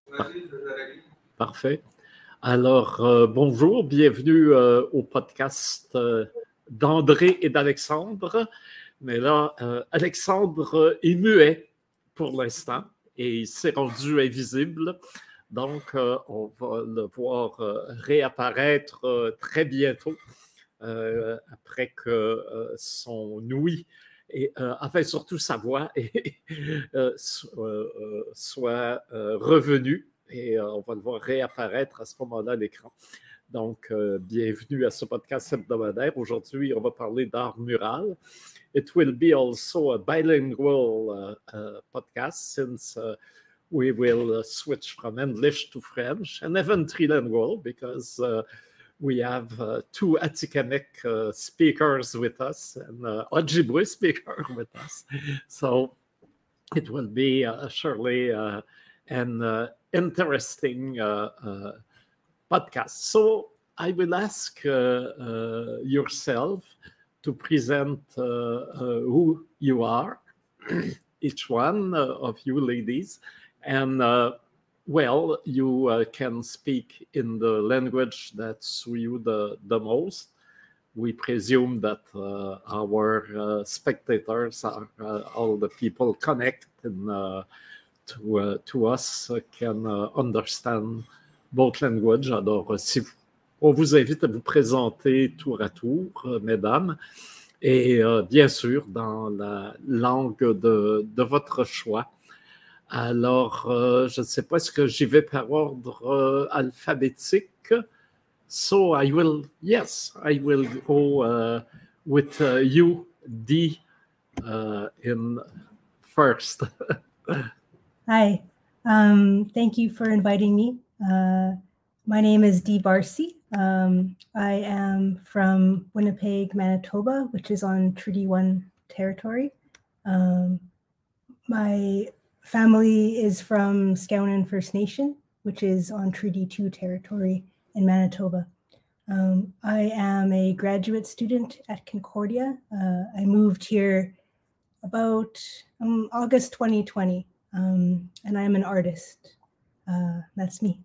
Par- Parfait. Alors, bonjour, bienvenue au podcast d'André et d'Alexandre. Mais là, Alexandre est muet pour l'instant et il s'est rendu invisible. Donc, on va le voir réapparaître très bientôt après que son ouïe et enfin surtout sa voix soit revenue et on va le voir réapparaître à ce moment-là à l'écran. Donc, bienvenue à ce podcast hebdomadaire. Aujourd'hui, on va parler d'art mural. It will be also a bilingual podcast since we will switch from English to French and even trilingual because we have two Atikamekw speakers with us and Ojibwe speaker with us. So it will be surely an interesting podcast. So I will ask yourself to present who you are, each one of you ladies, and well, you can speak in the language that suits you the most. We presume that our spectators are all the people connected to us can understand both languages. Alors, on vous invite à vous présenter tour à tour, mesdames, et bien sûr dans la langue de votre choix. Alors, je ne sais pas, est-ce que j'y vais par ordre alphabétique? So I will go with you, Dee, in first. Hi, thank you for inviting me. My name is Dee Barcy. I am from Winnipeg, Manitoba, which is on Treaty 1 territory. My family is from Skowhenan First Nation, which is on Treaty 2 territory in Manitoba. I am a graduate student at Concordia. I moved here about August 2020, and I'm an artist. That's me.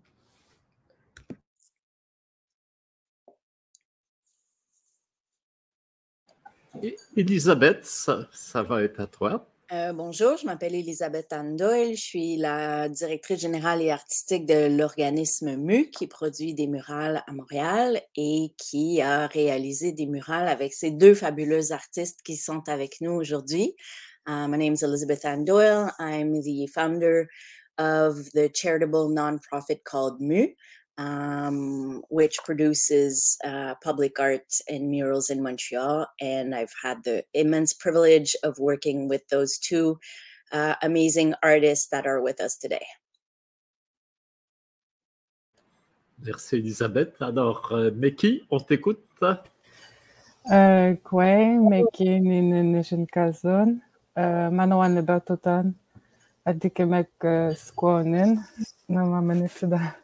Elisabeth, ça va être à toi. Bonjour, je m'appelle Elisabeth Anne Doyle, je suis la directrice générale et artistique de l'organisme MU qui produit des murales à Montréal et qui a réalisé des murales avec ces deux fabuleux artistes qui sont avec nous aujourd'hui. My name is Elizabeth Anne Doyle. I'm the founder of the charitable nonprofit called MU, which produces public art and murals in Montreal. And I've had the immense privilege of working with those two amazing artists that are with us today. Merci Elisabeth. Alors, Meki, on t'écoute. Kwe, Meki, Nishinkazon, Manoan Lebatotan, Adikemek Skwonin, Namamanifida.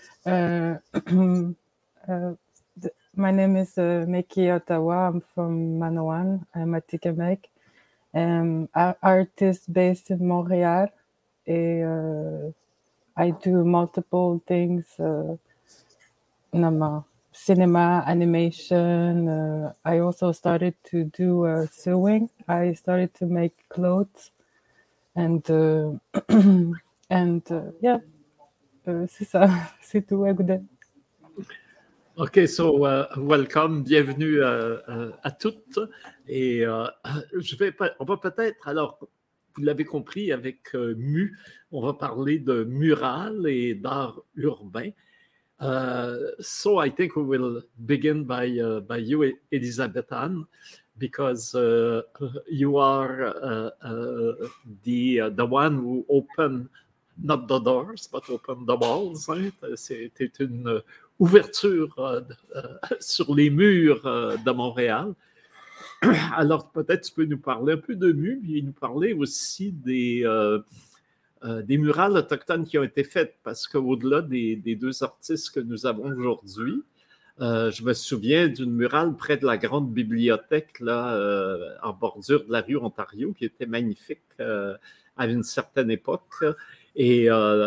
My name is Meki Ottawa. I'm from Manoan. I'm a Tikamek. I'm an artist based in Montreal. I do multiple things. Cinema, animation. I also started to do sewing. I started to make clothes. And yeah. C'est ça, c'est tout. OK, so welcome, bienvenue à toutes. Et on va peut-être, alors, vous l'avez compris, avec MU, on va parler de mural et d'art urbain. So I think we will begin by you, Elisabeth Anne, because you are the one who opened not the doors, but open the walls. Hein? C'était une ouverture sur les murs de Montréal. Alors, peut-être tu peux nous parler un peu de MU et nous parler aussi des murales autochtones qui ont été faites, parce qu'au-delà des deux artistes que nous avons aujourd'hui, je me souviens d'une murale près de la grande bibliothèque, en bordure de la rue Ontario, qui était magnifique à une certaine époque. Et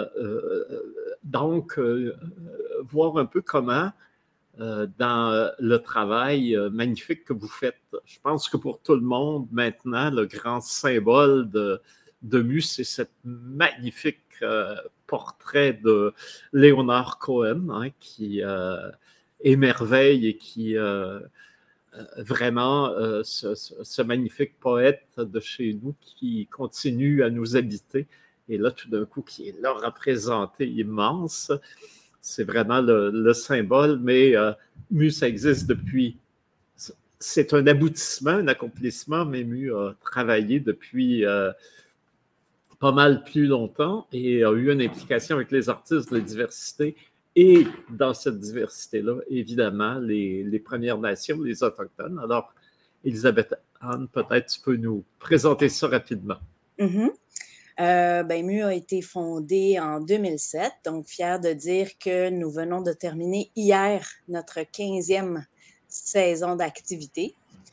donc, voir un peu comment, dans le travail magnifique que vous faites, je pense que pour tout le monde, maintenant, le grand symbole de MU, c'est cette magnifique portrait de Leonard Cohen, hein, qui émerveille et qui vraiment ce magnifique poète de chez nous qui continue à nous habiter. Et là, tout d'un coup, qui est là représenté immense. C'est vraiment le symbole, mais MU, ça existe depuis. C'est un aboutissement, un accomplissement, mais MU a travaillé depuis pas mal plus longtemps et a eu une implication avec les artistes de diversité. Et dans cette diversité-là, évidemment, les Premières Nations, les Autochtones. Alors, Elisabeth-Anne, peut-être tu peux nous présenter ça rapidement. Mm-hmm. MU a été fondé en 2007, donc fière de dire que nous venons de terminer hier notre 15e saison d'activité.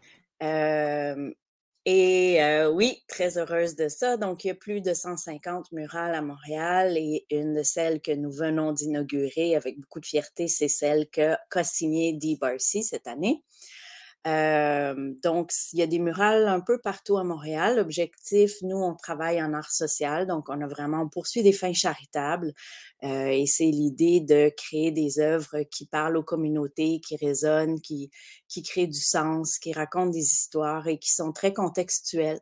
Oui, très heureuse de ça. Donc, il y a plus de 150 murales à Montréal et une de celles que nous venons d'inaugurer avec beaucoup de fierté, c'est celle qu'a signée Dee Barcy cette année. Donc, il y a des murales un peu partout à Montréal. L'objectif, nous, on travaille en art social, donc on poursuit des fins charitables et c'est l'idée de créer des œuvres qui parlent aux communautés, qui résonnent, qui créent du sens, qui racontent des histoires et qui sont très contextuelles.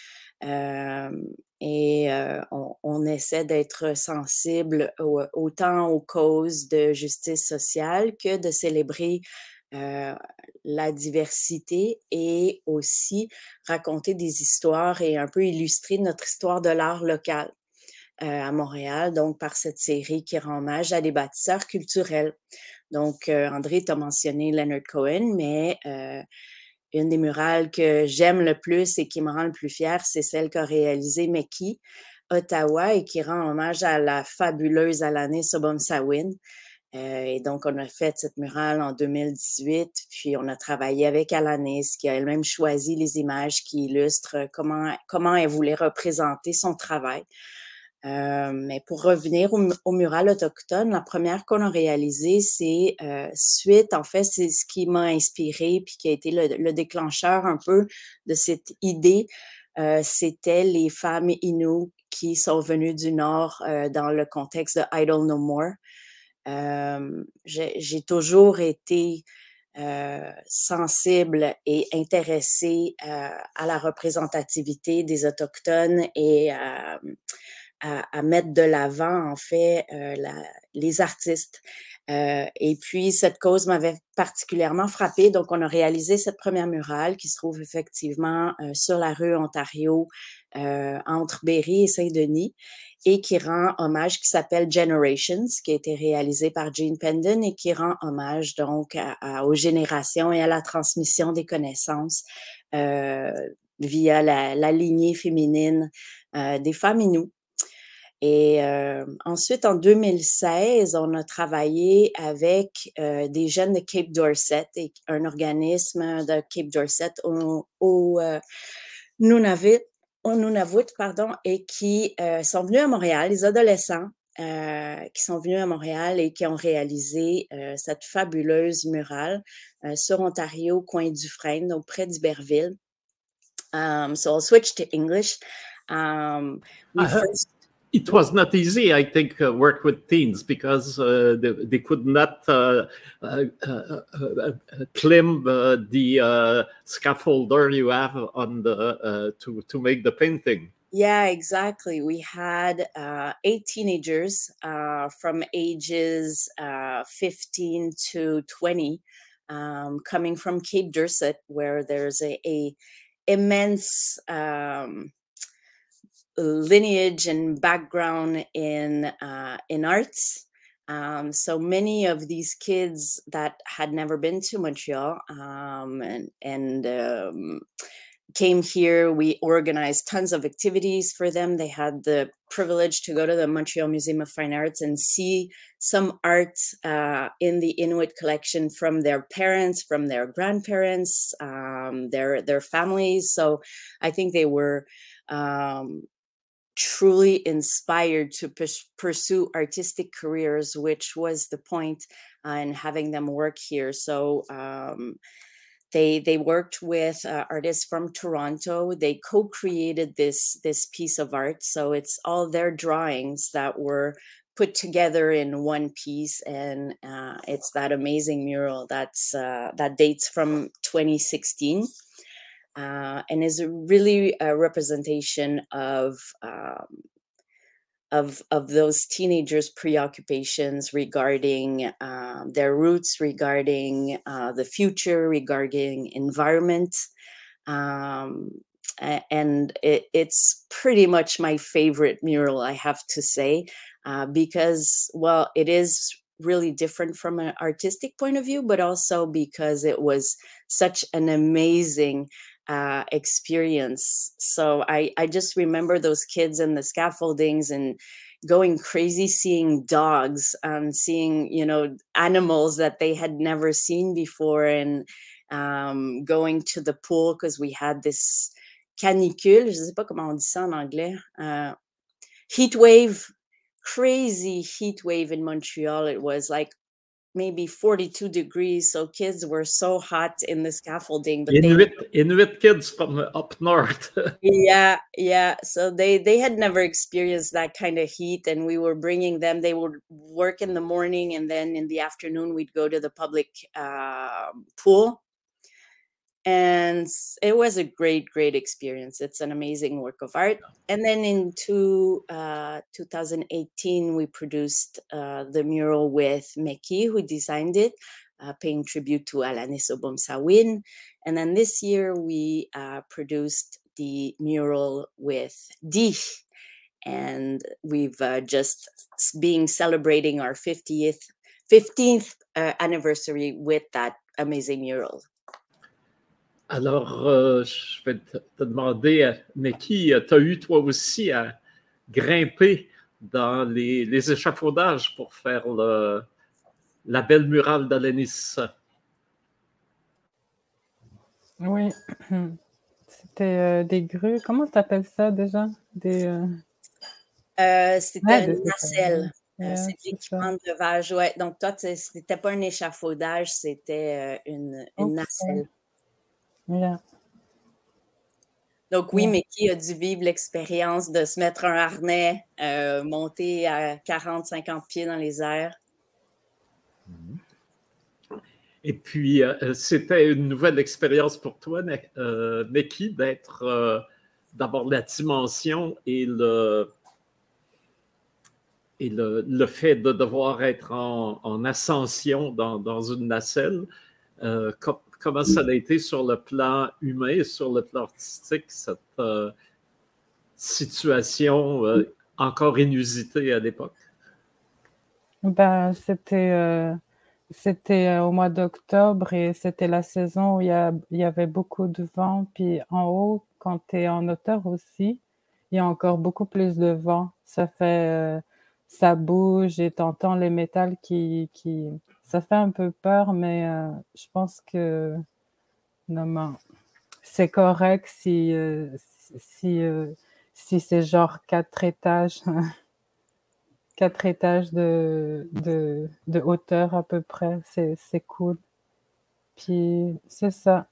On essaie d'être sensible autant aux causes de justice sociale que de célébrer la diversité et aussi raconter des histoires et un peu illustrer notre histoire de l'art local à Montréal, donc par cette série qui rend hommage à des bâtisseurs culturels. Donc, André t'a mentionné Leonard Cohen, mais une des murales que j'aime le plus et qui me rend le plus fière, c'est celle qu'a réalisée Meki, Ottawa, et qui rend hommage à la fabuleuse Alanis Obomsawin. Et donc, on a fait cette murale en 2018, puis on a travaillé avec Alanis, qui a elle-même choisi les images qui illustrent comment elle voulait représenter son travail. Mais pour revenir au mural autochtone, la première qu'on a réalisée, c'est c'est ce qui m'a inspirée puis qui a été le déclencheur un peu de cette idée. C'était les femmes Innu qui sont venues du Nord dans le contexte de Idle No More. J'ai toujours été sensible et intéressée à la représentativité des Autochtones et à mettre de l'avant, en fait, les artistes. Et puis, cette cause m'avait particulièrement frappée. Donc, on a réalisé cette première murale qui se trouve effectivement sur la rue Ontario, entre Berry et Saint-Denis, et qui rend hommage, qui s'appelle Generations, qui a été réalisé par Jean Pendon et qui rend hommage donc aux générations et à la transmission des connaissances via la lignée féminine des femmes Innu. Et ensuite, en 2016, on a travaillé avec des jeunes de Cape Dorset, et un organisme de Cape Dorset au Nunavut, et qui sont venus à Montréal, les adolescents qui sont venus à Montréal et qui ont réalisé cette fabuleuse murale sur Ontario, coin Dufresne, donc près d'Iberville. So I'll switch to English. It was not easy, I think, work with teens because they could not climb the scaffolder you have on the to make the painting. Yeah, exactly. We had 8 teenagers from ages 15 to 20 coming from Cape Dorset, where there's a immense lineage and background in arts. So many of these kids that had never been to Montreal and came here. We organized tons of activities for them. They had the privilege to go to the Montreal Museum of Fine Arts and see some art in the Inuit collection from their parents, from their grandparents, their families. So I think they were truly inspired to pursue artistic careers, which was the point in having them work here. So they worked with artists from Toronto. They co-created this piece of art. So it's all their drawings that were put together in one piece, and it's that amazing mural that dates from 2016. And is really a representation of those teenagers' preoccupations regarding their roots, regarding the future, regarding environment. And it's pretty much my favorite mural, I have to say, because, well, it is really different from an artistic point of view, but also because it was such an amazing experience. So I just remember those kids in the scaffoldings and going crazy, seeing dogs and seeing, animals that they had never seen before, and going to the pool because we had this canicule, je sais pas comment on dit ça en anglais, heat wave, crazy heat wave in Montreal. It was like maybe 42 degrees. So kids were so hot in the scaffolding, but Inuit kids from up north. Yeah. So they had never experienced that kind of heat, and we were bringing them. They would work in the morning, and then in the afternoon we'd go to the public pool. And it was a great experience. It's an amazing work of art. And then in 2018, we produced the mural with Meki, who designed it, paying tribute to Alanis Obomsawin. And then this year, we produced the mural with Di. And we've just been celebrating our 15th anniversary with that amazing mural. Alors, je vais te demander, Meki, tu as eu toi aussi à grimper dans les échafaudages pour faire la belle murale d'Alanis. Oui, c'était des grues. Comment tu appelles ça déjà? C'était une nacelle. C'est l'équipement de levage. Ouais. Donc, toi, c'était pas un échafaudage, c'était une nacelle. Yeah. Donc oui, Meki a dû vivre l'expérience de se mettre un harnais, monter à 40-50 pieds dans les airs. Et puis, c'était une nouvelle expérience pour toi, Meki, d'être d'avoir la dimension et le fait de devoir être en ascension dans une nacelle. Comment ça a été sur le plan humain et sur le plan artistique, cette situation encore inusitée à l'époque? Ben, c'était au mois d'octobre et c'était la saison où il y avait beaucoup de vent. Puis en haut, quand tu es en hauteur aussi, il y a encore beaucoup plus de vent. Ça bouge et tu entends les métals qui ça fait un peu peur, mais je pense que non, c'est correct si c'est genre 4 étages, 4 étages de hauteur à peu près, c'est cool. Puis c'est ça.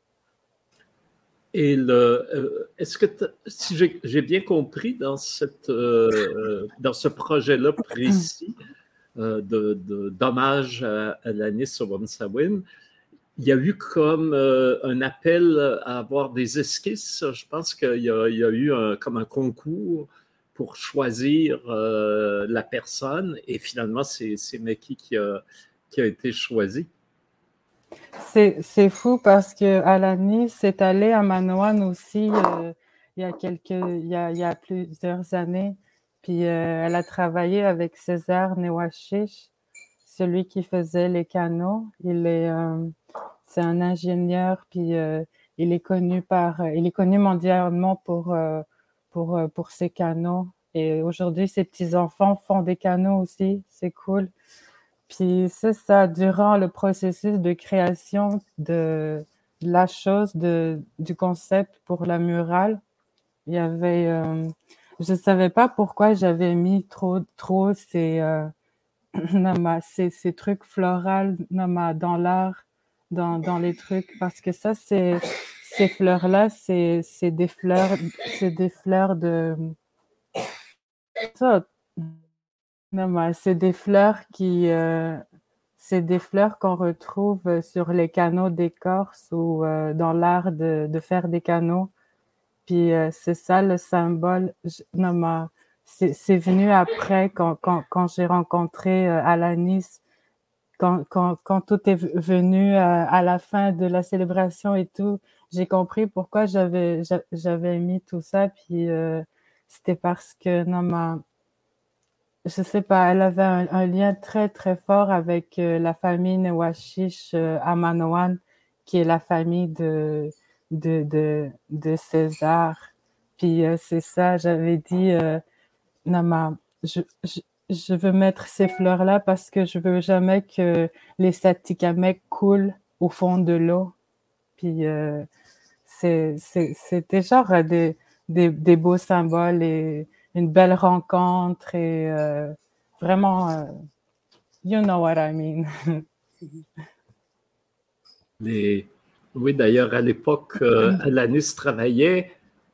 Et est-ce que, si j'ai bien compris dans ce projet-là précis d'hommage à Alanis Obomsawin, il y a eu comme un appel à avoir des esquisses. Je pense qu'il y a eu comme un concours pour choisir la personne, et finalement, c'est Meki qui a été choisi. C'est fou parce que Alanis est allée à Manoan aussi il y a plusieurs années. Puis elle a travaillé avec César Newashish, celui qui faisait les canaux. C'est un ingénieur, puis il est connu mondialement pour ses canaux. Et aujourd'hui, ses petits-enfants font des canaux aussi. C'est cool. Puis c'est ça, durant le processus de création de la chose, du concept pour la murale, il y avait je savais pas pourquoi j'avais mis trop ces ces trucs florales dans l'art, dans les trucs, parce que ça, ces fleurs-là, c'est des fleurs de ça. C'est des fleurs c'est des fleurs qu'on retrouve sur les canaux d'écorce ou dans l'art de faire des canaux. Puis c'est ça le symbole. C'est venu après quand j'ai rencontré Alanis, quand tout est venu à la fin de la célébration et tout, j'ai compris pourquoi j'avais mis tout ça. Puis c'était parce que je sais pas, elle avait un lien très très fort avec la famille Newashish à Manoan, qui est la famille de César. Puis c'est ça, j'avais dit, Nama, je veux mettre ces fleurs-là parce que je veux jamais que les Satikamek coulent au fond de l'eau. Puis c'était genre des beaux symboles et une belle rencontre et vraiment, you know what I mean. Oui, d'ailleurs, à l'époque, Alanis travaillait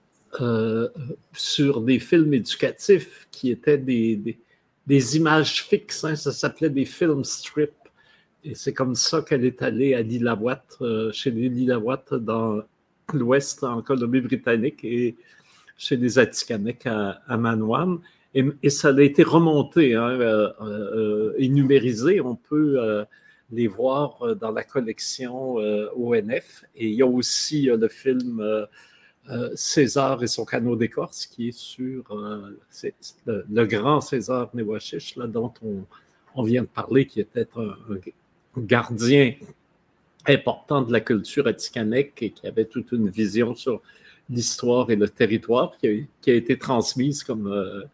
sur des films éducatifs qui étaient des images fixes, hein, ça s'appelait des film strips. Et c'est comme ça qu'elle est allée à Lillooet, chez les Lillooet dans l'Ouest, en Colombie-Britannique, et chez les Atikamekw à Manoan. Et ça a été remonté hein, et numérisé. On peut les voir dans la collection ONF. Et il y a aussi le film César et son canot d'écorce qui est sur le grand César Newashish, là, dont on vient de parler, qui était un gardien important de la culture atikamekw et qui avait toute une vision sur l'histoire et le territoire qui a été transmise comme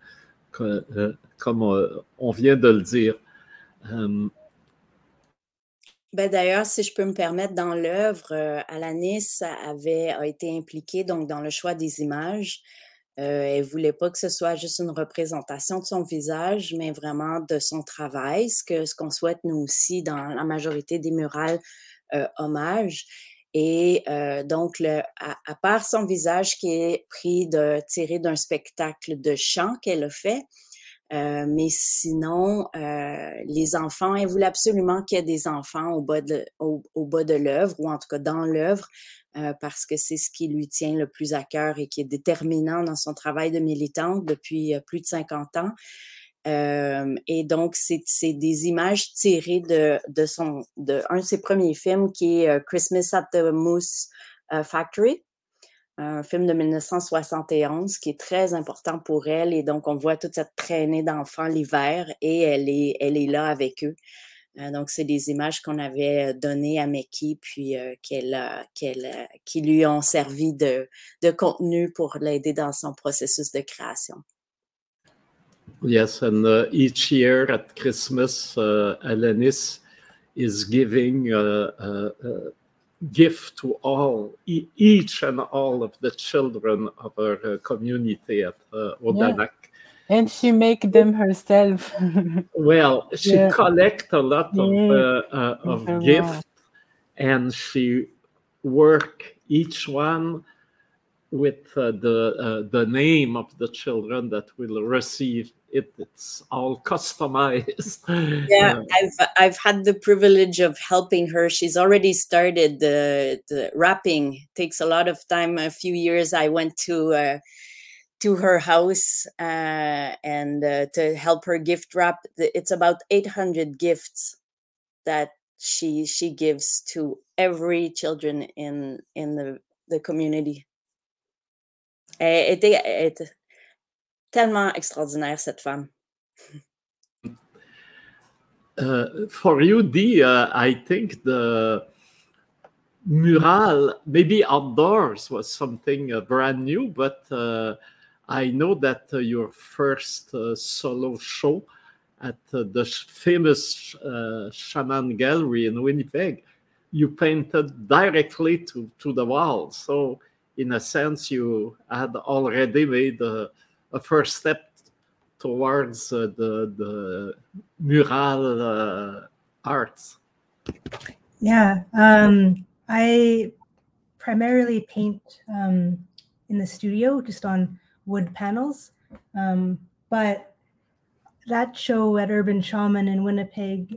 on vient de le dire. D'ailleurs, si je peux me permettre, dans l'œuvre, Alanis a été impliquée donc, dans le choix des images. Elle ne voulait pas que ce soit juste une représentation de son visage, mais vraiment de son travail, ce qu'on souhaite nous aussi dans la majorité des murales hommages. Et donc, à part son visage qui est tiré d'un spectacle de chant qu'elle a fait, mais sinon, les enfants, elle voulait absolument qu'il y ait des enfants au bas de l'œuvre, ou en tout cas dans l'œuvre, parce que c'est ce qui lui tient le plus à cœur et qui est déterminant dans son travail de militante depuis plus de 50 ans. Et donc, c'est des images tirées d'un de ses premiers films qui est Christmas at the Moose Factory, un film de 1971 qui est très important pour elle. Et donc, on voit toute cette traînée d'enfants l'hiver et elle est là avec eux. Donc, c'est des images qu'on avait données à Meki, puis qui lui ont servi de contenu pour l'aider dans son processus de création. Yes, and each year at Christmas, Alanis is giving gift to each and all of the children of our community at Odanak. Yeah. And she make them herself. Well, she collect a lot of gifts, and she work each one with the name of the children that will receive it. It's all customized. Yeah, I've had the privilege of helping her. She's already started the wrapping. It takes a lot of time. A few years I went to her house and to help her gift wrap. It's about 800 gifts that she gives to every children in the community. Elle était tellement extraordinaire, cette femme. For you, Dee, I think the mural, maybe outdoors, was something brand new, but I know that your first solo show at the famous Shaman Gallery in Winnipeg, you painted directly to the wall. So in a sense, you had already made a a first step towards the mural arts? Yeah, I primarily paint in the studio, just on wood panels. But that show at Urban Shaman in Winnipeg,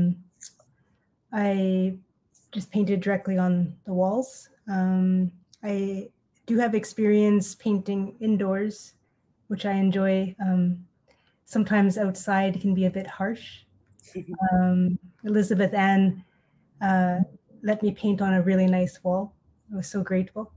I just painted directly on the walls. I do have experience painting indoors, which I enjoy. Sometimes outside can be a bit harsh. Elizabeth Ann let me paint on a really nice wall. I was so grateful.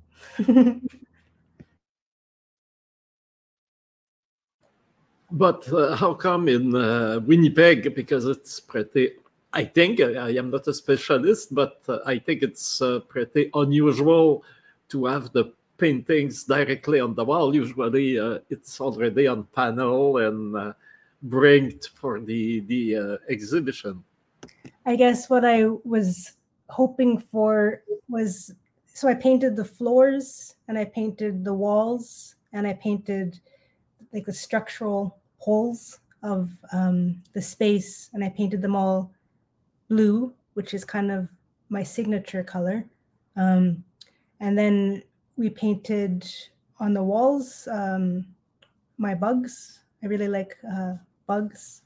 But how come in Winnipeg? Because it's pretty, I think, I am not a specialist, but I think it's pretty unusual to have the paintings directly on the wall. Usually it's already on panel and bring for the exhibition. I guess what I was hoping for was, so I painted the floors and I painted the walls and I painted like the structural holes of the space, and I painted them all blue, which is kind of my signature color. And then we painted on the walls my bugs. I really like bugs.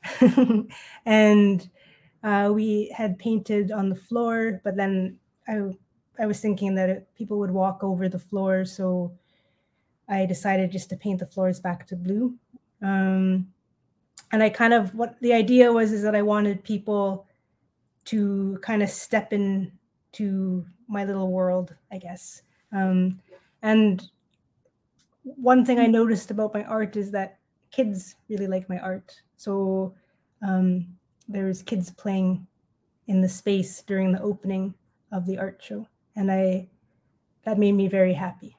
And we had painted on the floor, but then I was thinking that people would walk over the floor, so I decided just to paint the floors back to blue. And I kind of, what the idea was is that I wanted people to kind of step into my little world, I guess. And one thing I noticed about my art is that kids really like my art. So there's kids playing in the space during the opening of the art show. And that made me very happy.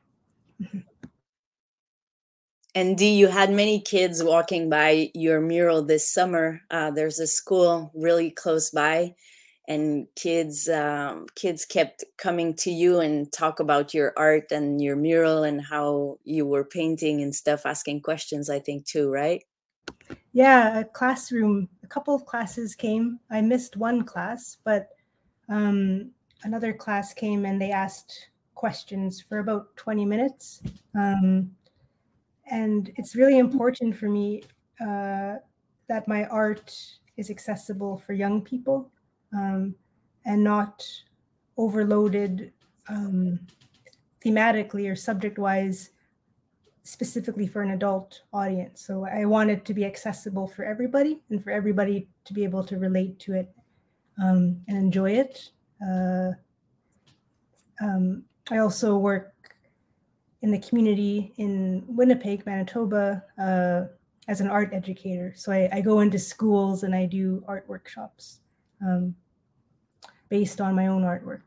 And Dee, you had many kids walking by your mural this summer. There's a school really close by, and kids kept coming to you and talk about your art and your mural and how you were painting and stuff, asking questions, I think, too, right? Yeah, a couple of classes came. I missed one class, but another class came and they asked questions for about 20 minutes. And it's really important for me that my art is accessible for young people and not overloaded thematically or subject-wise specifically for an adult audience. So I want it to be accessible for everybody and for everybody to be able to relate to it and enjoy it. I also work in the community in Winnipeg, Manitoba, as an art educator. So I go into schools and I do art workshops based on my own artwork.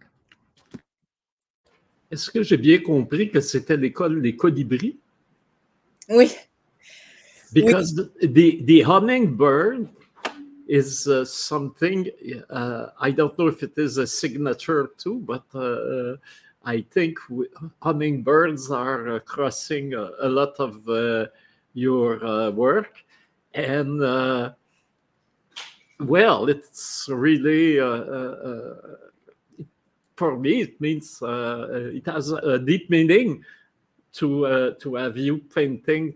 Est-ce que j'ai bien compris que c'était l'école des colibris? Oui. Because the hummingbird is something, I don't know if it is a signature too, but I think hummingbirds are crossing a lot of your work. And well, it's really, for me, it means it has a deep meaning to have you painting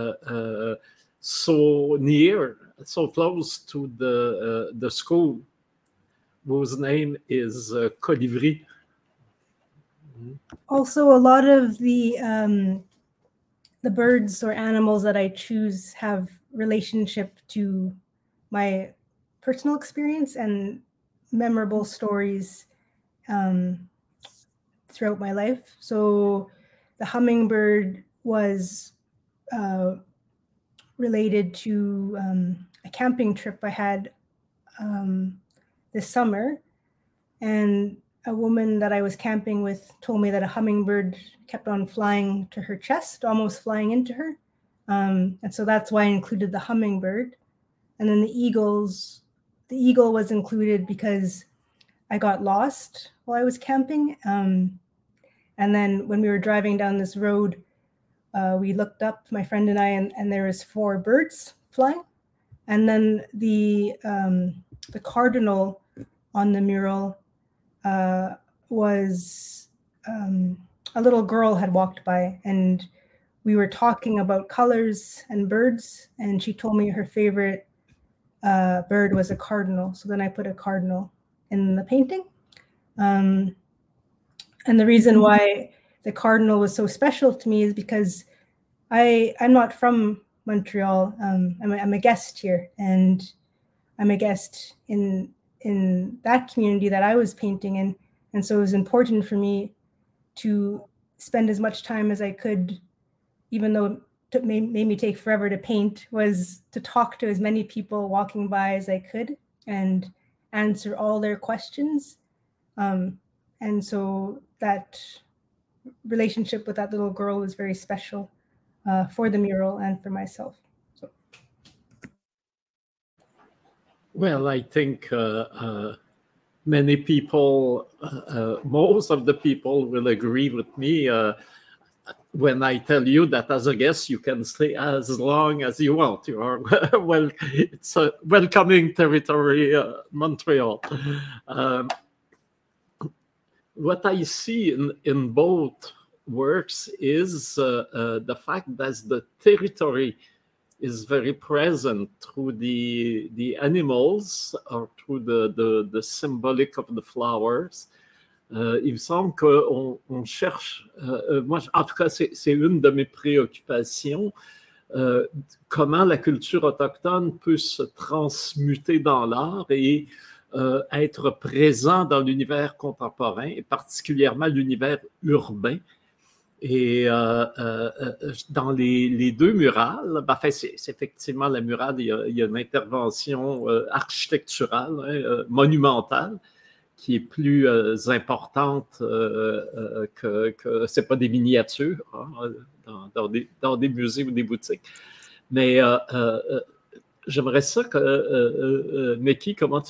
so near, so close to the school, whose name is Colibri. Also, a lot of the birds or animals that I choose have relationship to my personal experience and memorable stories throughout my life. So the hummingbird was related to a camping trip I had this summer, and a woman that I was camping with told me that a hummingbird kept on flying to her chest, almost flying into her. And so that's why I included the hummingbird. And then the eagle was included because I got lost while I was camping. And then when we were driving down this road, we looked up, my friend and I, and there was 4 birds flying. And then the cardinal on the mural was a little girl had walked by, and we were talking about colors and birds, and she told me her favorite bird was a cardinal. So then I put a cardinal in the painting. And the reason why the cardinal was so special to me is because I'm not from Montreal. I'm a guest here, and I'm a guest in that community that I was painting in. And so it was important for me to spend as much time as I could, even though it made me take forever to paint, was to talk to as many people walking by as I could and answer all their questions. And so that relationship with that little girl was very special for the mural and for myself. So. Well, I think many people, most of the people will agree with me when I tell you that as a guest, you can stay as long as you want. You are well, it's a welcoming territory, Montreal. What I see in both works is the fact that the territory is very present through the animals or through the symbolic of the flowers. Il me semble qu'on cherche, moi en tout cas c'est une de mes préoccupations, comment la culture autochtone peut se transmuter dans l'art et être présent dans l'univers contemporain, et particulièrement l'univers urbain. Et dans les 2 murales, c'est effectivement la murale, il y a une intervention architecturale, monumentale, qui est plus importante que c'est pas des miniatures dans des musées ou des boutiques. Mais j'aimerais ça que, Meki, comment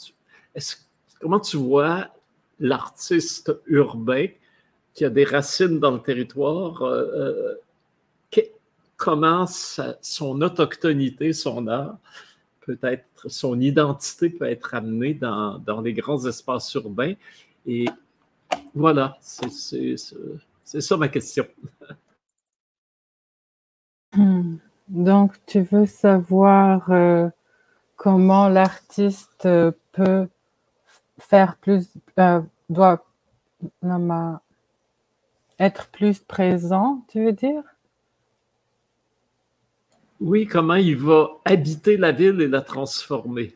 tu vois l'artiste urbain qui a des racines dans le territoire, comment son autochtonité, son art, peut-être son identité peut être amenée dans les grands espaces urbains. Et voilà, c'est ça ma question. Donc, tu veux savoir comment l'artiste peut faire plus, doit être plus présent, tu veux dire? Oui, comment il va habiter la ville et la transformer?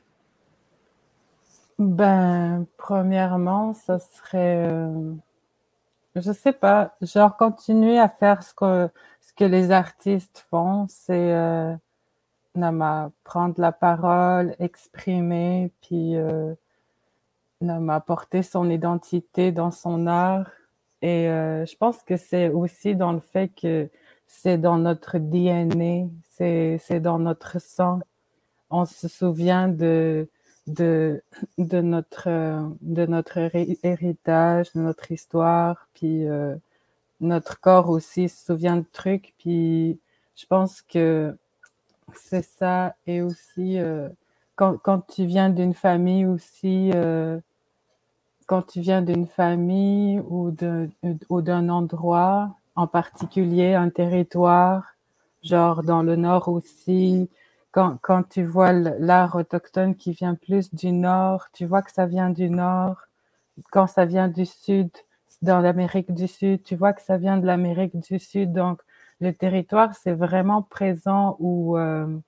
Premièrement, ça serait, je sais pas, genre continuer à faire ce que les artistes font, c'est prendre la parole, exprimer, puis porter son identité dans son art. Et je pense que c'est aussi dans le fait que c'est dans notre DNA, c'est dans notre sang. On se souvient de notre héritage, de notre histoire, puis notre corps aussi se souvient de trucs. Puis je pense que c'est ça. Et aussi, quand tu viens d'une famille aussi, quand tu viens d'une famille ou d'un endroit, en particulier un territoire, genre dans le Nord aussi, quand tu vois l'art autochtone qui vient plus du Nord, tu vois que ça vient du Nord. Quand ça vient du Sud, dans l'Amérique du Sud, tu vois que ça vient de l'Amérique du Sud. Donc, le territoire, c'est vraiment présent où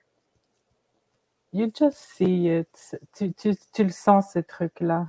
you just see it. Tu le sens, ce truc-là.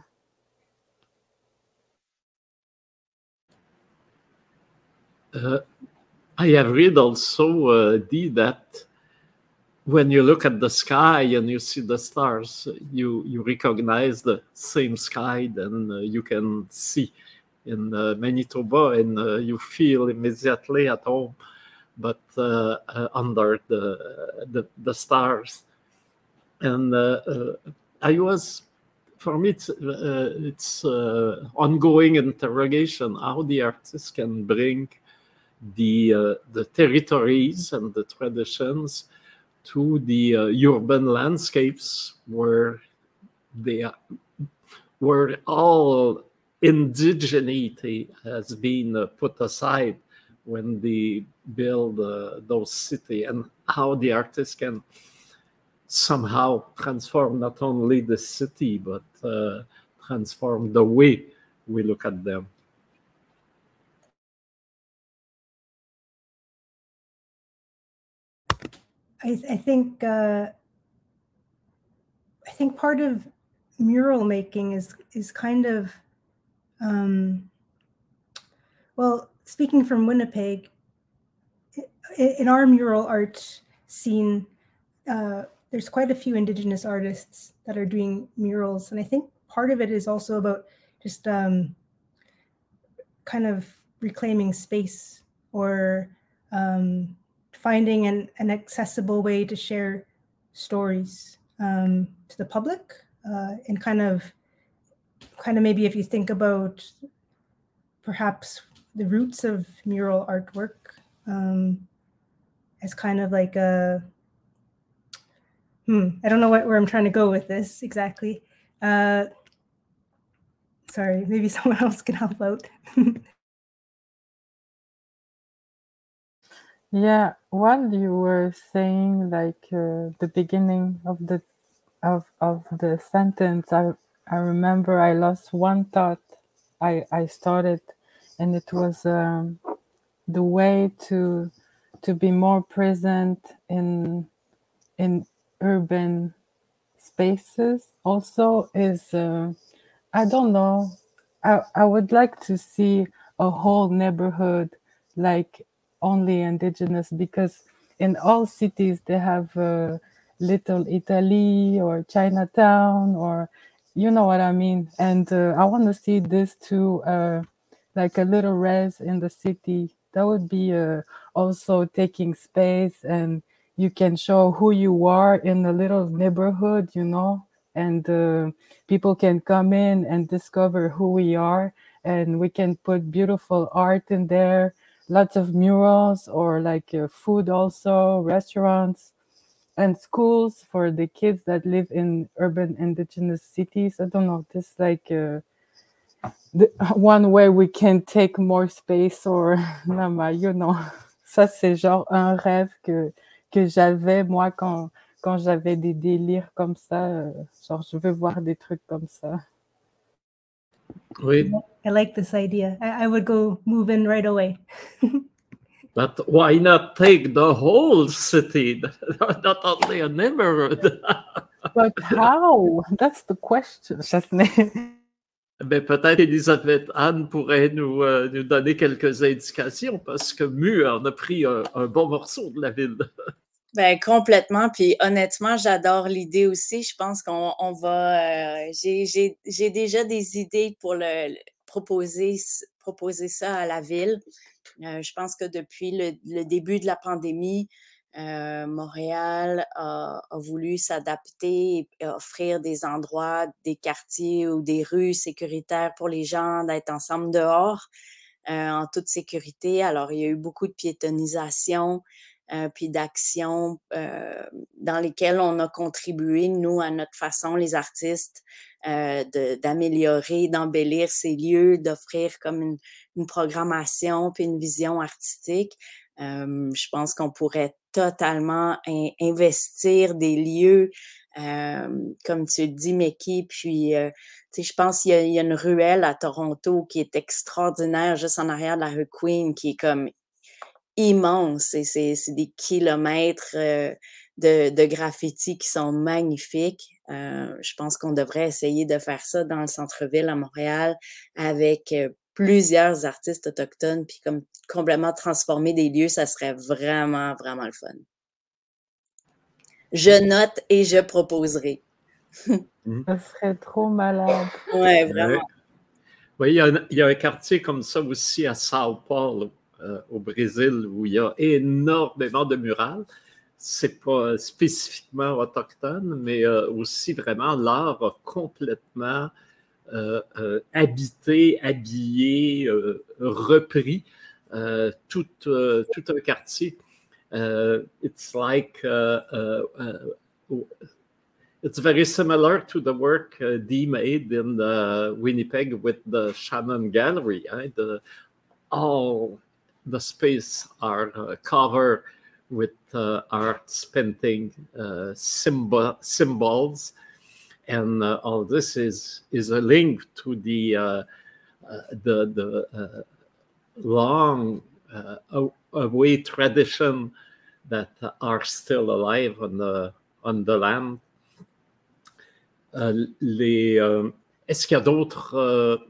I have read also, Dee, that when you look at the sky and you see the stars, you recognize the same sky than you can see in Manitoba, and you feel immediately at home, but under the stars. And for me, it's ongoing interrogation how the artist can bring the territories and the traditions to the urban landscapes where all indigeneity has been put aside when they build those cities, and how the artist can somehow transform not only the city, but transform the way we look at them. I think part of mural making is kind of well, speaking from Winnipeg, in our mural art scene, there's quite a few Indigenous artists that are doing murals, and I think part of it is also about just kind of reclaiming space, or finding an accessible way to share stories to the public, and kind of maybe if you think about perhaps the roots of mural artwork as kind of like a I don't know where I'm trying to go with this exactly. Sorry, maybe someone else can help out. Yeah, while you were saying like the beginning of the sentence, I remember I lost one thought I started, and it was the way to be more present in urban spaces also is I don't know, I would like to see a whole neighborhood like only Indigenous, because in all cities they have Little Italy or Chinatown, or you know what I mean. And I want to see this too, like a little res in the city. That would be also taking space, and you can show who you are in a little neighborhood, you know, and people can come in and discover who we are, and we can put beautiful art in there, lots of murals, or like food also, restaurants, and schools for the kids that live in urban Indigenous cities. I don't know, this like one way we can take more space, or you know, ça c'est genre un rêve que j'avais moi quand j'avais des délires comme ça, genre je veux voir des trucs comme ça. Oui. I like this idea. I would go move in right away. But why not take the whole city, not only a neighborhood? But how? That's the question. Ben, peut-être Elisabeth Anne pourrait nous donner quelques indications, parce que Mu en a pris un bon morceau de la ville. Ben, complètement. Puis honnêtement, j'adore l'idée aussi. Je pense qu'on va. J'ai déjà des idées pour proposer ça à la ville. Je pense que depuis le début de la pandémie, Montréal a voulu s'adapter et offrir des endroits, des quartiers ou des rues sécuritaires pour les gens, d'être ensemble dehors en toute sécurité. Alors, il y a eu beaucoup de piétonisation, puis d'actions dans lesquelles on a contribué, nous, à notre façon, les artistes, d'améliorer, d'embellir ces lieux, d'offrir comme une programmation puis une vision artistique. Je pense qu'on pourrait totalement investir des lieux, comme tu le dis, Meki, puis je pense qu'il y a une ruelle à Toronto qui est extraordinaire, juste en arrière de la rue Queen, qui est comme immense, et c'est des kilomètres de graffitis qui sont magnifiques. Je pense qu'on devrait essayer de faire ça dans le centre-ville à Montréal avec plusieurs artistes autochtones, puis comme complètement transformer des lieux, ça serait vraiment, vraiment le fun. Je note et je proposerai. Ça serait trop malade. Ouais, vraiment. Oui, il y a un quartier comme ça aussi à Sao Paulo, au Brésil, où il y a énormément de murales. C'est pas spécifiquement autochtone, mais aussi vraiment l'art a complètement habité, habillé, repris tout un quartier. It's like it's very similar to the work Dee made in Winnipeg with the Shannon Gallery. All the space are covered with arts, painting, symbols, and all this is a link to the long away tradition that are still alive on the land. Est-ce qu'il y a d'autres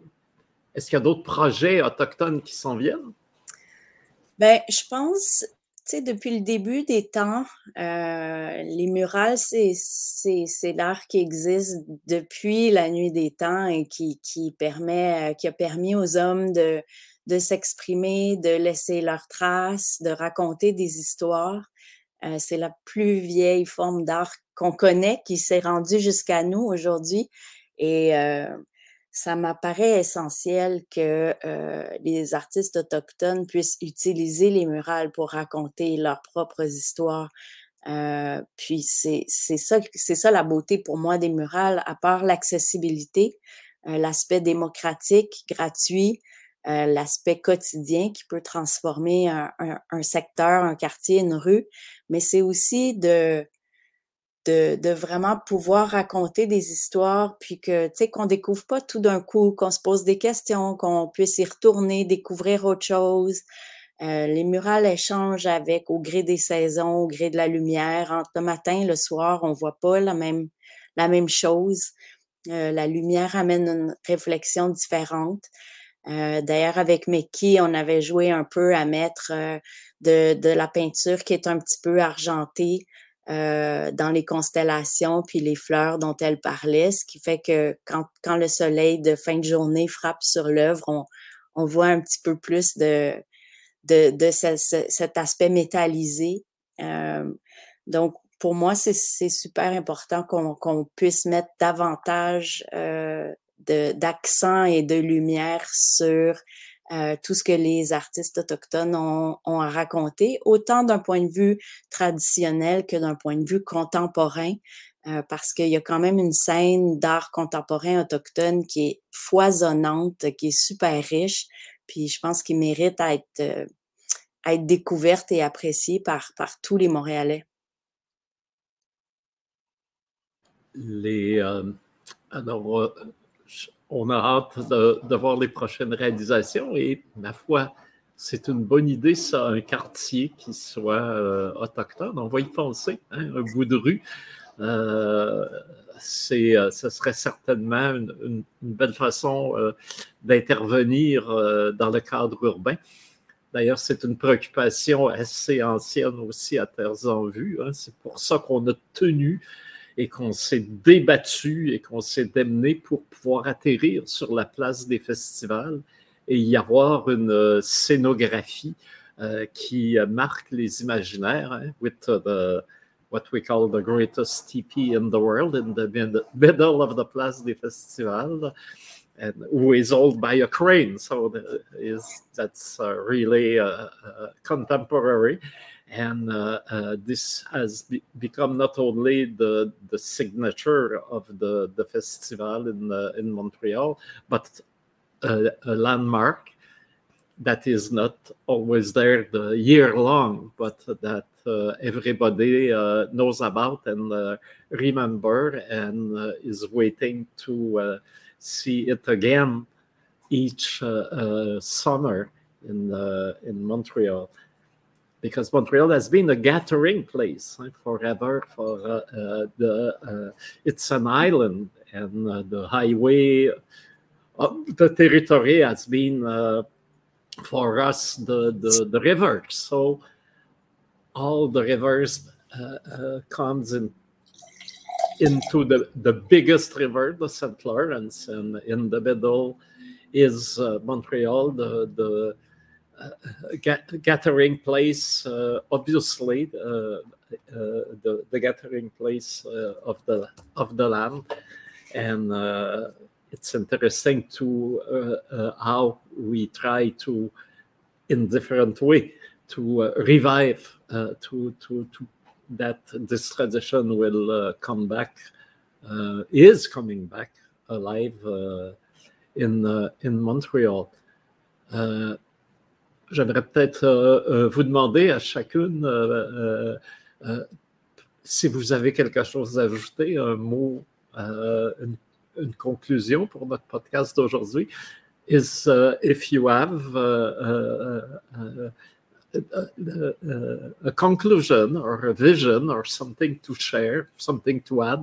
projets autochtones qui s'en viennent? Ben, je pense, tu sais, depuis le début des temps, les murales, c'est l'art qui existe depuis la nuit des temps et qui a permis aux hommes de s'exprimer, de laisser leurs traces, de raconter des histoires. C'est la plus vieille forme d'art qu'on connaît, qui s'est rendue jusqu'à nous aujourd'hui. Et ça m'apparaît essentiel que les artistes autochtones puissent utiliser les murales pour raconter leurs propres histoires. Puis c'est ça la beauté pour moi des murales, à part l'accessibilité, l'aspect démocratique, gratuit, l'aspect quotidien qui peut transformer un secteur, un quartier, une rue, mais c'est aussi de vraiment pouvoir raconter des histoires, puis que, tu sais, qu'on découvre pas tout d'un coup, qu'on se pose des questions, qu'on puisse y retourner, découvrir autre chose. Les murales échangent au gré des saisons, au gré de la lumière. Entre le matin et le soir, on voit pas la même chose. La lumière amène une réflexion différente. D'ailleurs, avec Meki, on avait joué un peu à mettre de la peinture qui est un petit peu argentée dans les constellations puis les fleurs dont elle parlait, ce qui fait que quand le soleil de fin de journée frappe sur l'œuvre, on voit un petit peu plus de cet aspect métallisé. Donc, pour moi, c'est super important qu'on puisse mettre davantage d'accent et de lumière sur tout ce que les artistes autochtones ont à raconter, autant d'un point de vue traditionnel que d'un point de vue contemporain, parce qu'il y a quand même une scène d'art contemporain autochtone qui est foisonnante, qui est super riche, puis je pense qu'il mérite à être découverte et appréciée par tous les Montréalais. Alors, on a hâte de voir les prochaines réalisations et, ma foi, c'est une bonne idée, ça, un quartier qui soit autochtone. On va y penser, hein, un bout de rue. Ce serait certainement une belle façon d'intervenir dans le cadre urbain. D'ailleurs, c'est une préoccupation assez ancienne aussi à Terres en Vue. Hein. C'est pour ça qu'on a tenu et qu'on s'est débattu et qu'on s'est démené pour pouvoir atterrir sur la place des festivals et y avoir une scénographie qui marque les imaginaires, hein, with what we call the greatest teepee in the world in the middle of the place des festivals, and who is owned by a crane. So that's really contemporary. And this has become not only the signature of the festival in Montreal, but a landmark that is not always there the year long, but that everybody knows about and remember and is waiting to see it again each summer in Montreal. Because Montreal has been a gathering place forever. It's an island, and the highway of the territory has been for us the rivers. So all the rivers comes into the biggest river, the St. Lawrence, and in the middle is Montreal, the gathering place, obviously the gathering place of the land, and it's interesting to how we try to in different way to revive to that this tradition will come back, is coming back alive in Montreal. J'aimerais peut-être vous demander à chacune si vous avez quelque chose à ajouter, un mot, une conclusion pour notre podcast d'aujourd'hui. Is if you have a conclusion or a vision or something to share, something to add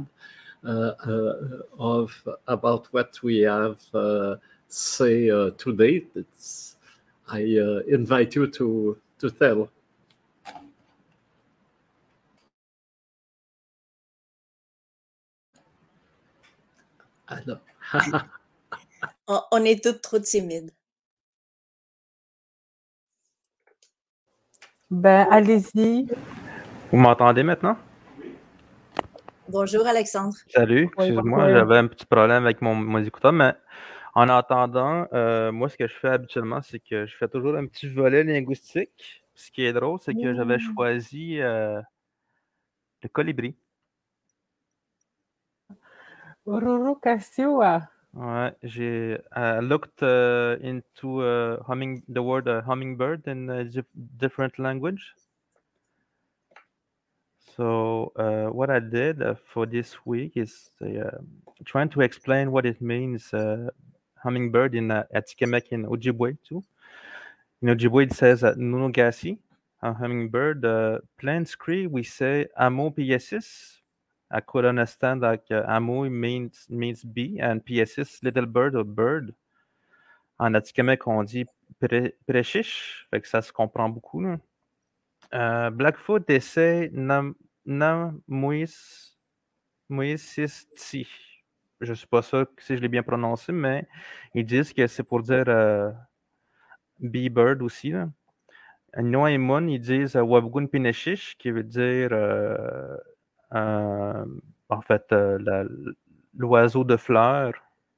about what we have say today, I invite you to tell. Alors. On est toutes trop timides. Ben, allez-y. Vous m'entendez maintenant? Bonjour, Alexandre. Salut, excuse-moi, j'avais un petit problème avec mon écouteur, mais en attendant, moi, ce que je fais habituellement, c'est que je fais toujours un petit volet linguistique. Ce qui est drôle, c'est que j'avais choisi le colibri. Rorokasiwa. Ouais, j'ai looked into the word hummingbird in a different language. So what I did for this week is trying to explain what it means, hummingbird in Atikamekw in Ojibwe too. In Ojibwe it says nunugasi, a hummingbird. Plain Cree we say amo piesis. I could understand like amo means bee and piesis little bird or bird. En Atikamekw on dit prechiche, fait que ça se comprend beaucoup là. Blackfoot essaie Namuisisti. Je ne suis pas sûr si je l'ai bien prononcé, mais ils disent que c'est pour dire bee bird aussi. Noaimon, ils disent Wabgun Pineshish, qui veut dire en fait l'oiseau de fleurs.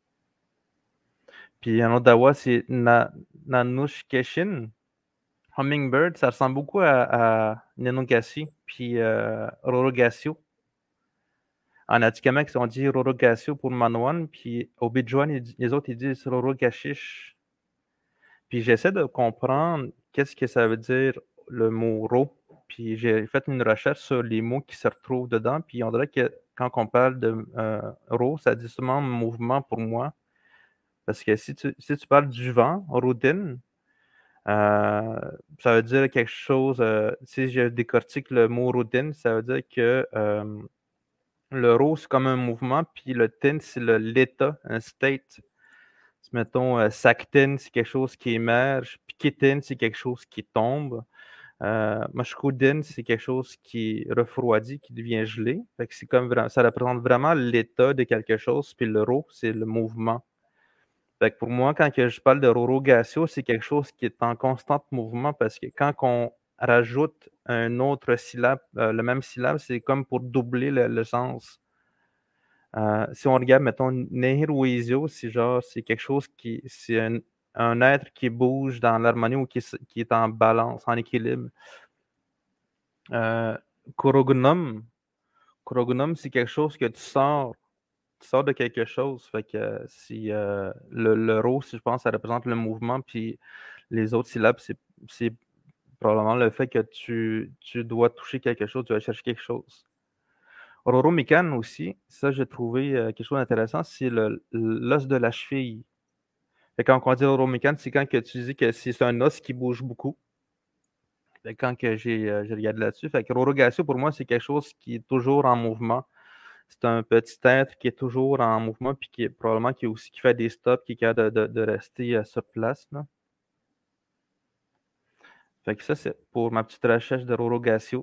Puis en Ottawa, c'est Nanushkeshin. Hummingbird, ça ressemble beaucoup à Nenogassi, puis Rorogasio. En Atikamekw, on dit Rorogasio pour Manoan, puis au Bidjouan, les autres, ils disent Rorogashish. Puis j'essaie de comprendre qu'est-ce que ça veut dire le mot ro. Puis j'ai fait une recherche sur les mots qui se retrouvent dedans, puis on dirait que quand on parle de ro, ça dit seulement mouvement pour moi. Parce que si tu parles du vent, rodin, ça veut dire quelque chose, si je décortique le mot rodin, ça veut dire que le ro, c'est comme un mouvement, puis le tin, c'est l'état, un state. Mettons, saktin, c'est quelque chose qui émerge, pikitin, c'est quelque chose qui tombe. Mashkoudin, c'est quelque chose qui refroidit, qui devient gelé. Fait que c'est comme ça représente vraiment l'état de quelque chose, puis le ro, c'est le mouvement. Fait que pour moi, quand je parle de rorogatio, c'est quelque chose qui est en constant mouvement parce que quand on rajoute un autre syllabe, le même syllabe, c'est comme pour doubler le sens. Si on regarde, mettons, Nehiruizio, c'est quelque chose c'est un être qui bouge dans l'harmonie ou qui est en balance, en équilibre. Korogunum, c'est quelque chose que tu sors de quelque chose. Fait que si le ro, si je pense, ça représente le mouvement, puis les autres syllabes, c'est probablement le fait que tu dois toucher quelque chose, tu vas chercher quelque chose. Roromikan aussi, ça j'ai trouvé quelque chose d'intéressant, c'est l'os de la cheville. Fait quand on dit Roromikan, c'est quand que tu dis que c'est un os qui bouge beaucoup. Fait quand que j'ai regardé là-dessus, fait que Rorogatio pour moi c'est quelque chose qui est toujours en mouvement. C'est un petit être qui est toujours en mouvement puis qui fait des stops, qui est capable de rester sur place. Là. Fait que ça, c'est pour ma petite recherche de Rorogatio.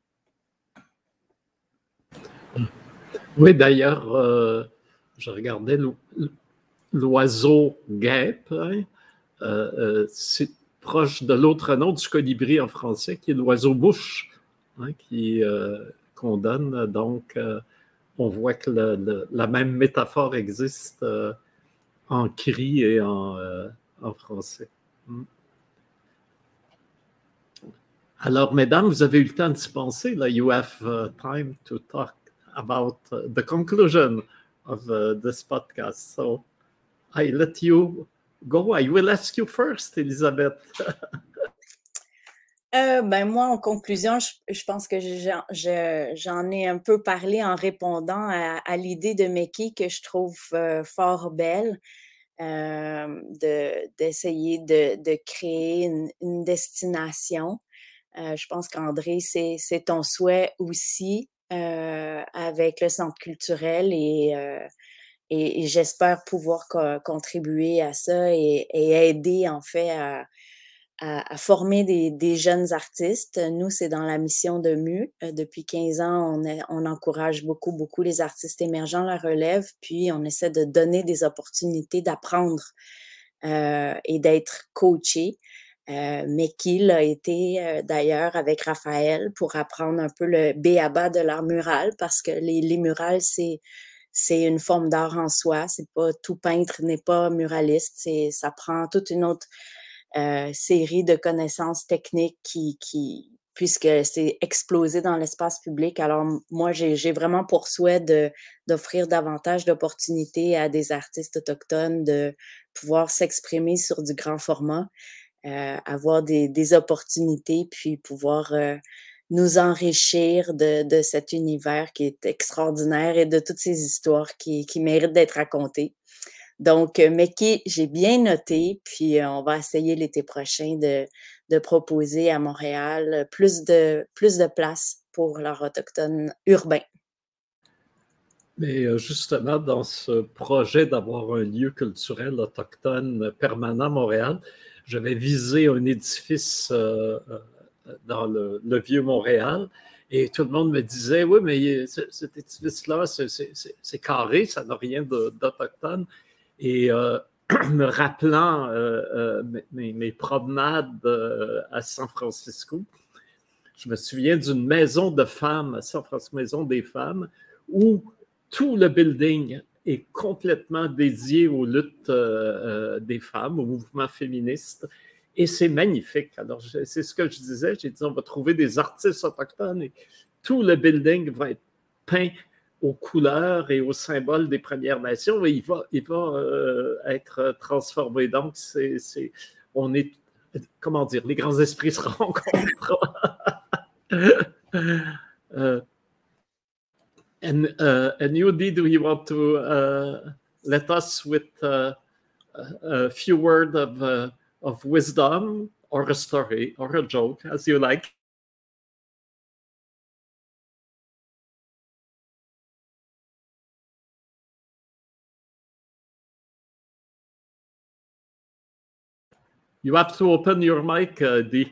Oui, d'ailleurs, je regardais l'oiseau guêpe. Hein? C'est proche de l'autre nom du colibri en français, qui est l'oiseau mouche, hein, qu'on donne. Donc, on voit que la même métaphore existe en cri et en français. Alors, mesdames, vous avez eu le temps d'y penser. Là. You have time to talk about the conclusion of this podcast. So, I let you go. I will ask you first, Elisabeth. Moi, en conclusion, je pense que j'en ai un peu parlé en répondant à l'idée de Meki que je trouve fort belle, d'essayer de créer une destination. Je pense qu'André, c'est ton souhait aussi avec le centre culturel et j'espère pouvoir contribuer à ça et aider en fait à former des jeunes artistes. Nous, c'est dans la mission de MU. Depuis 15 ans, on encourage beaucoup les artistes émergents, la relève, puis on essaie de donner des opportunités d'apprendre et d'être coaché. Meki a été d'ailleurs avec Raphaël pour apprendre un peu le b.a.-ba de l'art mural parce que les murales, c'est une forme d'art en soi. C'est pas tout peintre n'est pas muraliste. Ça prend toute une autre série de connaissances techniques puisque c'est explosé dans l'espace public. Alors, moi, j'ai vraiment pour souhait d'offrir davantage d'opportunités à des artistes autochtones de pouvoir s'exprimer sur du grand format, avoir des opportunités, puis pouvoir nous enrichir de cet univers qui est extraordinaire et de toutes ces histoires qui méritent d'être racontées. Donc, Meki, j'ai bien noté, puis on va essayer l'été prochain de proposer à Montréal plus de place pour l'art autochtone urbain. Mais justement, dans ce projet d'avoir un lieu culturel autochtone permanent à Montréal, j'avais visé un édifice dans le vieux Montréal et tout le monde me disait, oui, mais cet édifice-là, c'est carré, ça n'a rien d'autochtone. Et me rappelant mes promenades à San Francisco, je me souviens d'une maison de femmes à San Francisco, maison des femmes, où tout le building est complètement dédié aux luttes des femmes, au mouvement féministe. Et c'est magnifique. Alors, c'est ce que je disais. J'ai dit, on va trouver des artistes autochtones et tout le building va être peint aux couleurs et aux symboles des Premières Nations et il va être transformé. Donc, on est, comment dire, les grands esprits se rencontrent. And Yudi, do you want to let us with a few words of wisdom or a story or a joke, as you like? You have to open your mic, Dee.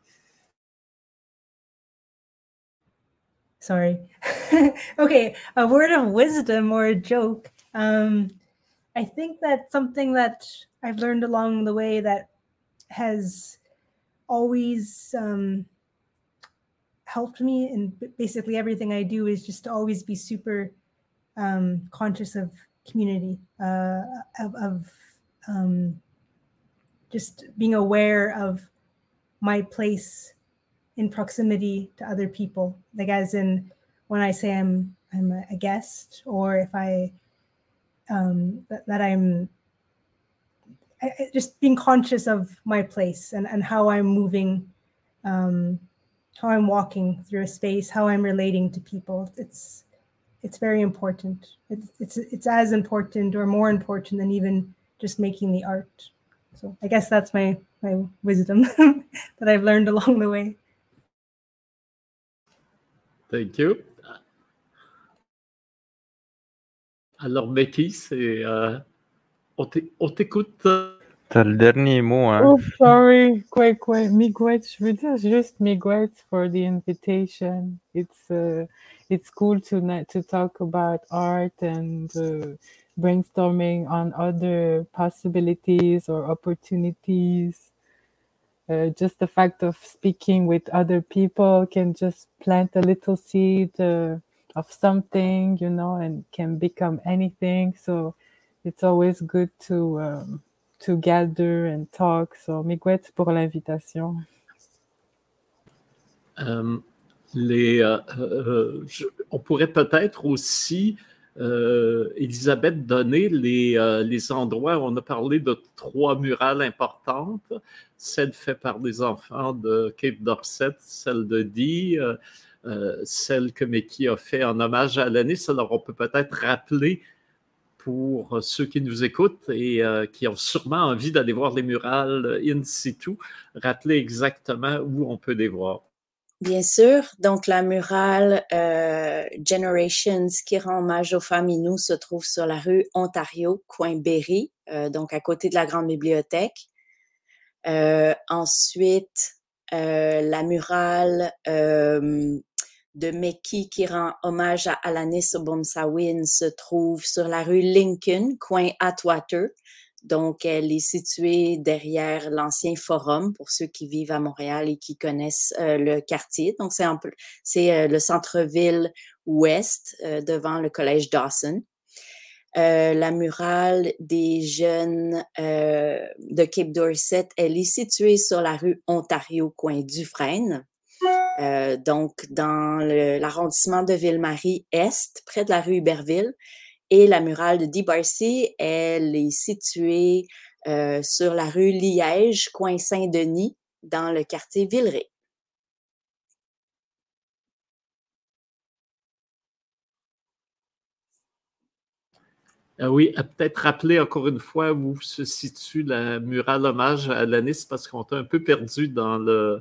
Sorry. Okay, a word of wisdom or a joke. I think that something that I've learned along the way that has always helped me in basically everything I do is just to always be super conscious of community, of just being aware of my place in proximity to other people, like as in when I say I'm a guest, or if I that I'm just being conscious of my place and how I'm moving, how I'm walking through a space, how I'm relating to people. It's very important. It's as important or more important than even just making the art. So I guess that's my wisdom that I've learned along the way. Thank you. Alors, Becky, on t'écoute. T'as le dernier mot, hein? Oh, sorry. Quite. Miigwech. Je veux dire juste miigwech for the invitation. It's cool to talk about art and brainstorming on other possibilities or opportunities. Just the fact of speaking with other people can just plant a little seed of something, and can become anything. So it's always good to gather and talk. So, miigwech pour l'invitation. On pourrait peut-être aussi, Elisabeth, donner les endroits. On a parlé de 3 murales importantes. Celle faite par des enfants de Cape Dorset, celle de Dee, celle que Meki a fait en hommage à Alanis. Alors, on peut peut-être rappeler pour ceux qui nous écoutent et qui ont sûrement envie d'aller voir les murales in situ, rappeler exactement où on peut les voir. Bien sûr. Donc, la murale Generations qui rend hommage aux femmes Innu se trouve sur la rue Ontario, coin Berry, donc à côté de la Grande Bibliothèque. Ensuite, la murale de Meki qui rend hommage à Alanis Obomsawin se trouve sur la rue Lincoln, coin Atwater. Donc, elle est située derrière l'ancien forum pour ceux qui vivent à Montréal et qui connaissent le quartier. Donc, c'est le centre-ville ouest devant le collège Dawson. La murale des jeunes de Cape Dorset, elle est située sur la rue Ontario, coin Dufresne. Donc, dans l'arrondissement de Ville-Marie-Est, près de la rue Iberville. Et la murale de Dee Barcy, elle est située sur la rue Liège, coin Saint-Denis, dans le quartier Villeray. Oui, peut-être rappeler encore une fois où se situe la murale hommage à Alanis, parce qu'on est un peu perdu dans le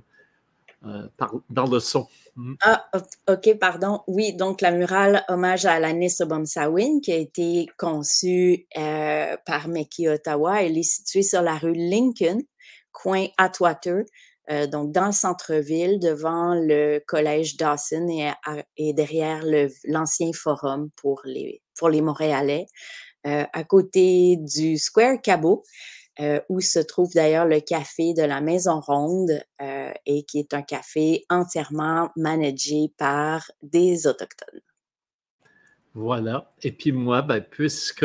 son. Ah, OK, pardon. Oui, donc la murale hommage à Alanis Obomsawin qui a été conçue par Meki Ottawa, elle est située sur la rue Lincoln, coin Atwater, donc dans le centre-ville, devant le collège Dawson et derrière l'ancien forum pour les Montréalais, à côté du Square Cabot. Où se trouve d'ailleurs le café de la Maison Ronde et qui est un café entièrement managé par des Autochtones. Voilà. Et puis moi, puisque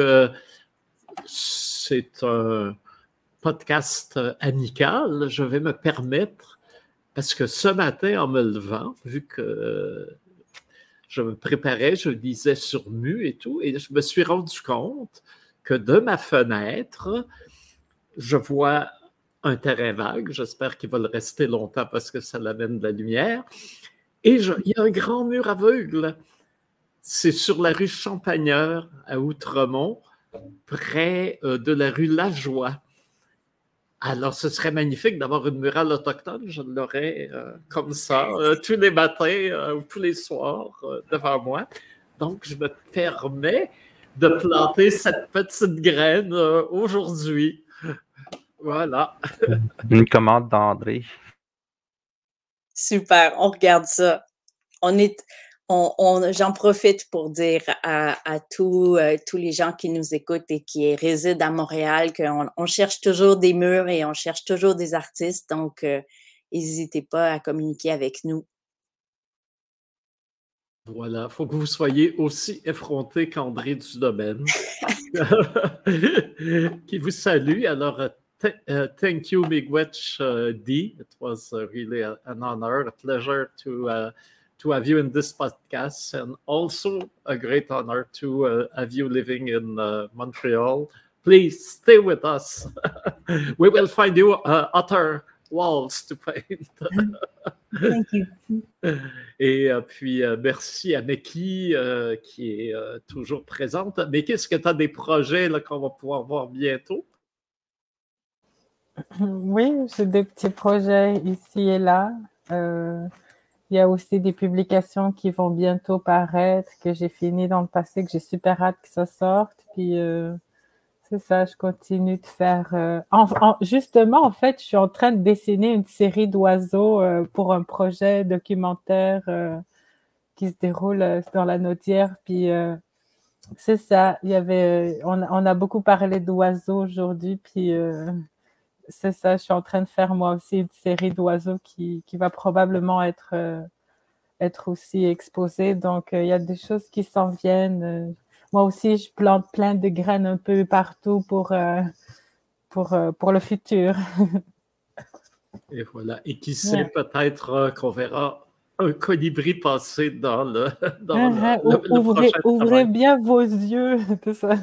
c'est un podcast amical, je vais me permettre, parce que ce matin, en me levant, vu que je me préparais, je lisais sur Mu et tout, et je me suis rendu compte que de ma fenêtre, je vois un terrain vague. J'espère qu'il va le rester longtemps parce que ça l'amène de la lumière. Et il y a un grand mur aveugle. C'est sur la rue Champagneur, à Outremont, près de la rue Lajoie. Alors, ce serait magnifique d'avoir une murale autochtone. Je l'aurais comme ça, tous les matins ou tous les soirs devant moi. Donc, je me permets de planter cette petite graine aujourd'hui. Voilà. Une commande d'André. Super, on regarde ça. J'en profite pour dire à tous les gens qui nous écoutent et qui résident à Montréal qu'on cherche toujours des murs et on cherche toujours des artistes. Donc, n'hésitez pas à communiquer avec nous. Voilà, il faut que vous soyez aussi effronté qu'André Dudomaine, qui vous salue. Alors, thank you, Miigwech Dee. It was really an honor, a pleasure to have you in this podcast, and also a great honor to have you living in Montreal. Please stay with us. We will find you other walls to paint. Thank you. Et puis, merci à Meki qui est toujours présente. Meki, est-ce que tu as des projets là, qu'on va pouvoir voir bientôt? Oui, j'ai des petits projets ici et là. Il y a aussi des publications qui vont bientôt paraître, que j'ai fini dans le passé, que j'ai super hâte que ça sorte. Puis, c'est ça, je continue de faire... Justement, en fait, je suis en train de dessiner une série d'oiseaux pour un projet documentaire qui se déroule dans la Naudière. Puis, c'est ça, on a beaucoup parlé d'oiseaux aujourd'hui, puis... c'est ça, je suis en train de faire moi aussi une série d'oiseaux qui va probablement être aussi exposée. Donc, il y a des choses qui s'en viennent. Moi aussi, je plante plein de graines un peu partout pour le futur. Et voilà. Et qui sait, peut-être qu'on verra un colibri passé dans le Ouvrez prochain travail. bien vos yeux, tout ça.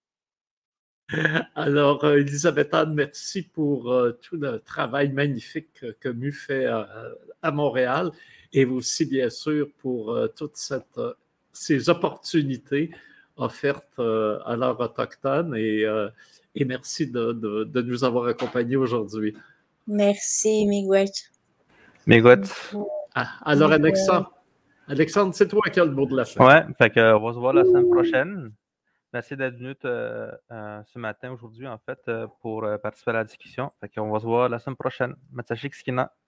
Alors, Elisabeth Anne, merci pour tout le travail magnifique que MU fait à Montréal et aussi, bien sûr, pour toutes ces opportunités offertes à l'art autochtone et merci de nous avoir accompagnés aujourd'hui. Merci, Miigwech. Miigwech. Alors, Alexandre, c'est toi qui as le mot de la fin. Ouais, fait que, on va se voir la semaine prochaine. Merci d'être venu ce matin, aujourd'hui, en fait, pour participer à la discussion. Fait qu'on va se voir la semaine prochaine. Matsashik Skina.